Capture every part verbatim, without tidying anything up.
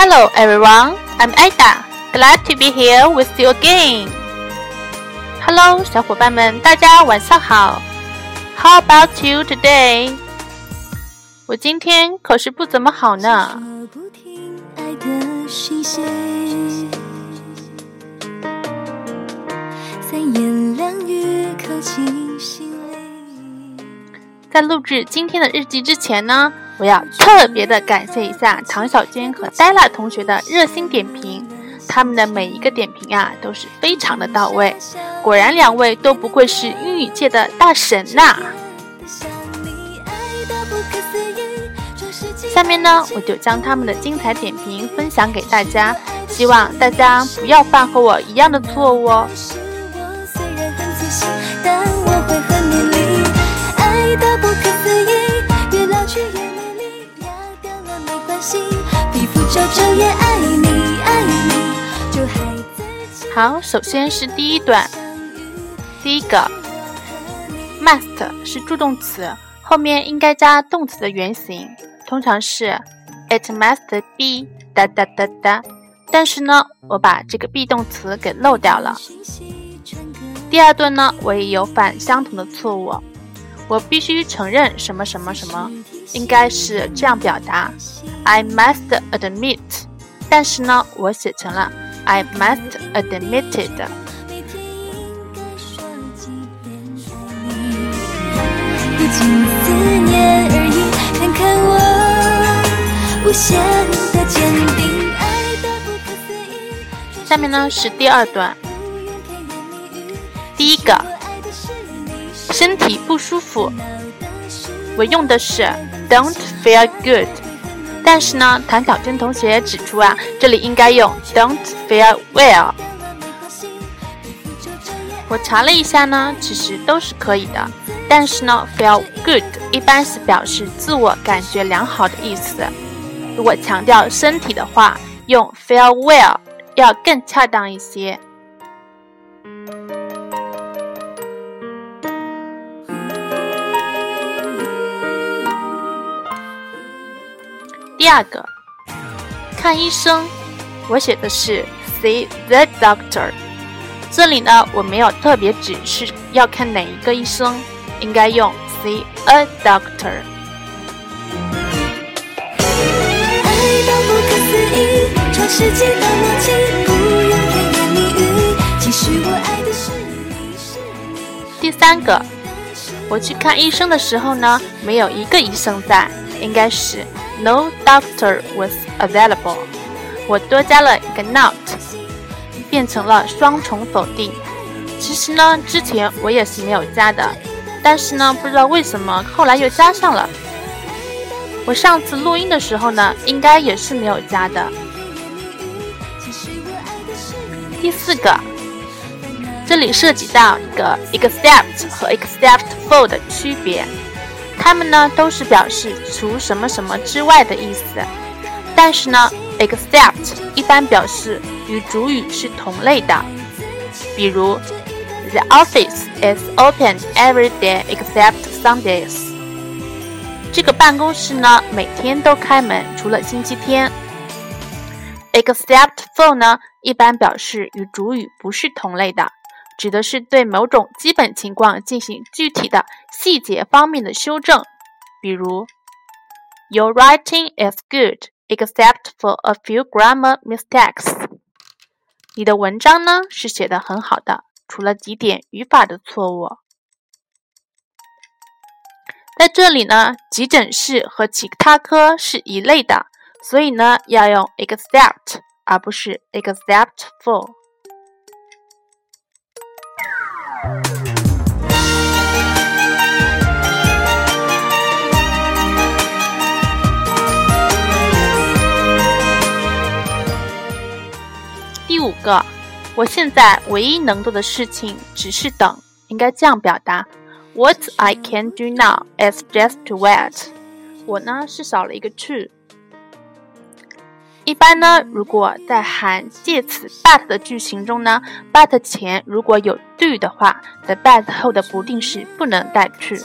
Hello everyone, I'm Ada. Glad to be here with you again. Hello, 小伙伴们，大家晚上好。How about you today? 我今天可是不怎么好呢。在录制今天的日记之前呢，我要特别的感谢一下唐小娟和戴拉同学的热心点评，他们的每一个点评啊都是非常的到位，果然两位都不愧是英语界的大神呐、啊。下面呢，我就将他们的精彩点评分享给大家，希望大家不要犯和我一样的错误哦。好，首先是第一段，第一个 must 是助动词，后面应该加动词的原形，通常是 it must be 哒哒哒哒，但是呢我把这个 be 动词给漏掉了。第二段呢我也有犯相同的错误，我必须承认什么什么什么，应该是这样表达 I must admit， 但是呢我写成了 I must admitted。 不仅思念而已，看看我无限的坚定，爱的不可思议。下面呢是第二段，第一个身体不舒服，我用的是 don't feel good， 但是呢谭小娟同学指出啊，这里应该用 don't feel well。 我查了一下呢，其实都是可以的，但是呢 feel good 一般是表示自我感觉良好的意思，如果强调身体的话，用 feel well 要更恰当一些。第二个看医生，我写的是 see the doctor， 这里呢我没有特别指示要看哪一个医生，应该用 see a doctor。 爱到不可思议，创世纪的默契，不用甜言蜜语，其实我爱的是你是你。第三个，我去看医生的时候呢，没有一个医生在，应该是No doctor was available， 我多加了一个 not， 变成了双重否定。其实呢之前我也是没有加的，但是呢不知道为什么后来又加上了。我上次录音的时候呢应该也是没有加的。第四个，这里涉及到一个 except 和 exceptful 的区别，它们呢都是表示除什么什么之外的意思，但是呢 except 一般表示与主语是同类的，比如 The office is open every day except Sundays， 这个办公室呢每天都开门，除了星期天。 exceptful 呢一般表示与主语不是同类的，指的是对某种基本情况进行具体的细节方面的修正，比如 Your writing is good except for a few grammar mistakes， 你的文章呢是写得很好的，除了几点语法的错误。在这里呢急诊室和其他科是一类的，所以呢要用 except 而不是 exceptful。第五个，我现在唯一能做的事情只是等，应该这样表达 What I can do now is just to wait。 我呢是少了一个 to。 一般呢如果在含介词 but 的句型中呢， but 前如果有 do 的话， the but 后的不定式不能带 to。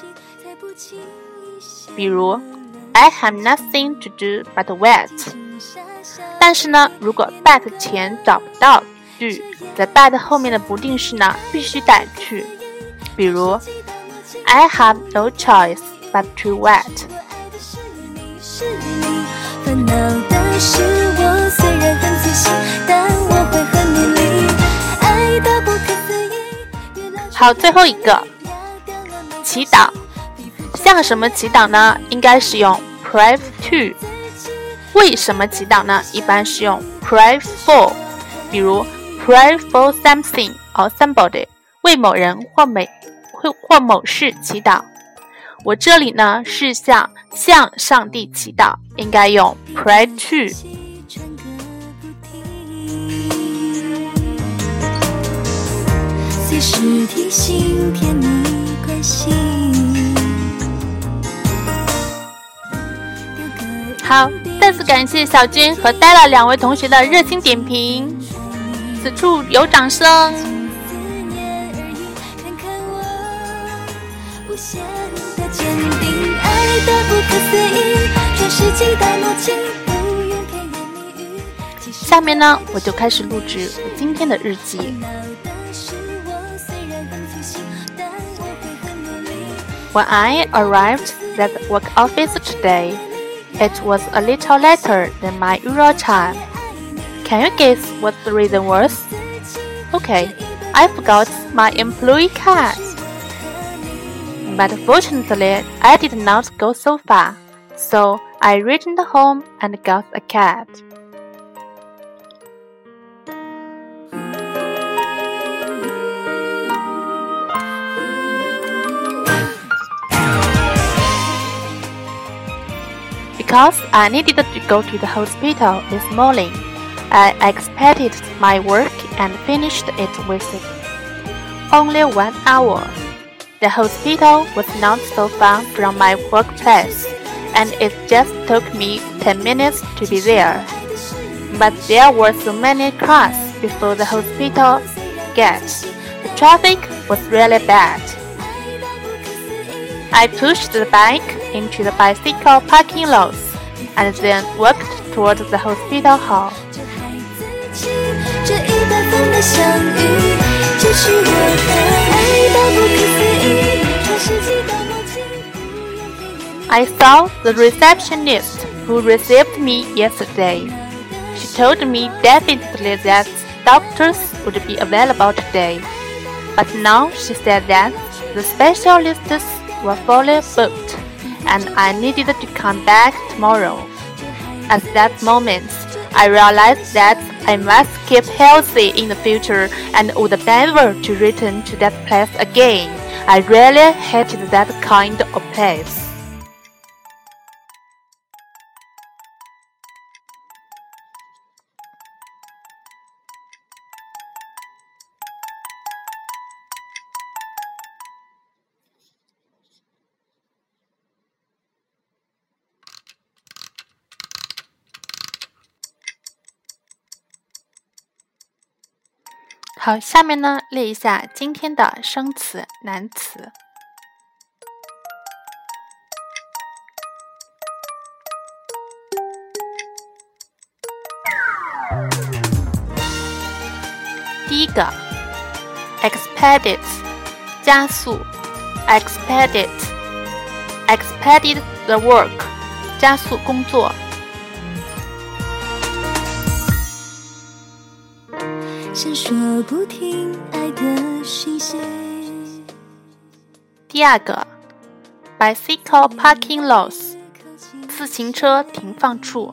比如 I have nothing to do but wait， 但是呢，如果 but 前找不到句，在 but 后面的不定式呢必须带去。比如 I have no choice but to wait。 烦恼的是我虽然很仔细，但我会很努力，爱到不可思议。 好，最后一个祈祷，向什么祈祷呢？应该是用 pray to。 为什么祈祷呢？一般是用 pray for。 比如 pray for something or somebody， 为某人或美或某事祈祷。我这里呢是向向上帝祈祷，应该用 pray to。 随时提醒甜蜜关系。 好，再次感谢小军和戴拉两位同学的热心点评，此处有掌声。下面呢，我就开始录制我今天的日记。When I arrived at the work office today, it was a little later than my usual time. Can you guess what the reason was? Okay, I forgot my employee card. But fortunately, I did not go so far, so I returned home and got a card. Because I needed to go to the hospital this morning, I expected my work and finished it within only one hour. The hospital was not so far from my workplace, and it just took me ten minutes to be there. But there were so many cars before the hospital gate. The traffic was really bad. I pushed the bike into the bicycle parking lot and then walked toward the hospital hall. I saw the receptionist who received me yesterday. She told me definitely that doctors would be available today, but now she said that the specialists were fully booked and I needed to come back tomorrow. At that moment, I realized that I must keep healthy in the future and would never to return to that place again. I really hated that kind of place. « 好，下面呢列一下今天的生词、难词。第一个 expedite 加速 expedite expedite the work 加速工作。 闪烁不停爱的讯息。 第二个 bicycle parking lots 自行车停放处。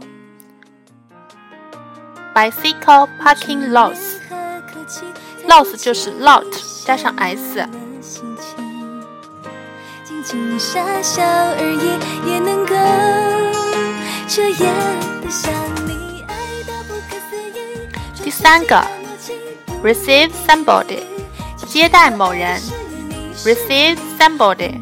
bicycle parking lots lots 就是 lot 加上 s。 静静傻笑而已，也能够彻夜的想你，爱到不可思议。 第三个receive somebody 接待某人 receive somebody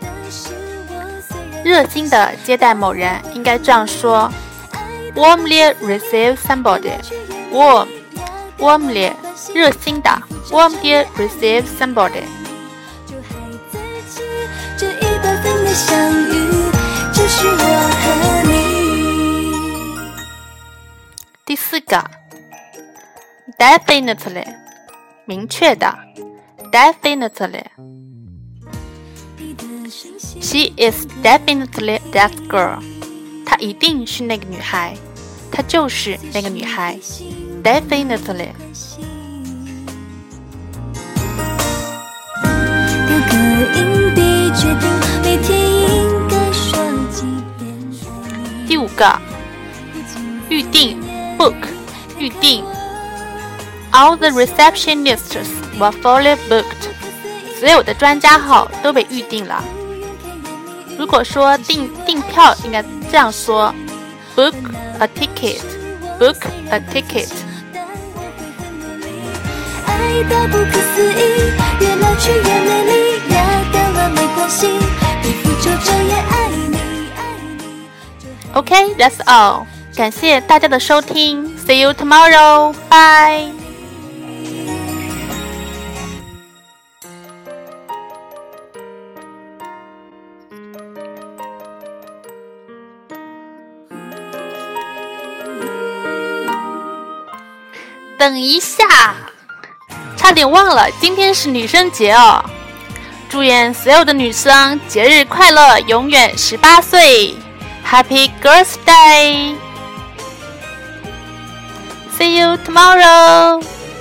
热心的接待某人应该这样说 warmly receive somebody warm warmly 热心的 warmly receive somebody 这一百分的相遇就是我和你。 第四个 definitely 明确的 definitely She is definitely that girl 她一定是那个女孩，她就是那个女孩 definitely 丢个硬币决定每天应该说几遍第五个预定 book 预定 All the receptionists were fully booked 所有的专家号都被预定了。如果说订订票应该这样说 book a ticket book a ticket 爱到不可思议，越老去越美丽，压掉了没关系，皮肤皱皱也爱你爱你。 OK, that's all 感谢大家的收听 See you tomorrow, bye等一下，差点忘了，今天是女生节哦！祝愿所有的女生节日快乐，永远十八岁 ！Happy Girls' Day! See you tomorrow!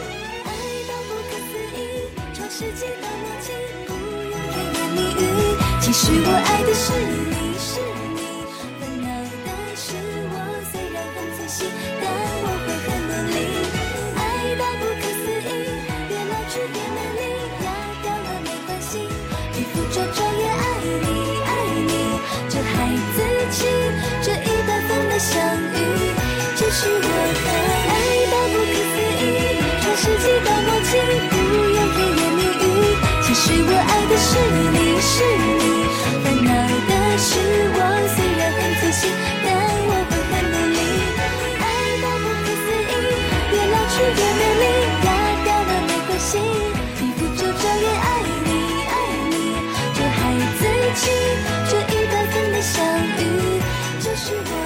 其实我爱的是你，是你。烦恼的是我，虽然很仔细，但我会很努力。爱到不可思议，越老去越美丽，压掉了没关系，皮肤皱皱也爱你，爱你。这孩子气，这一百分的相遇，就是我的爱到不可思议，创世纪的默契，不用甜言蜜语。其实我爱的是你，是你。烦恼的是我，虽然很仔细，但我会很努力。爱到不可思议，越老去越美丽，压掉了没关系，皮肤皱皱也爱你，爱你。这孩子气，这一百分的相遇，就是我。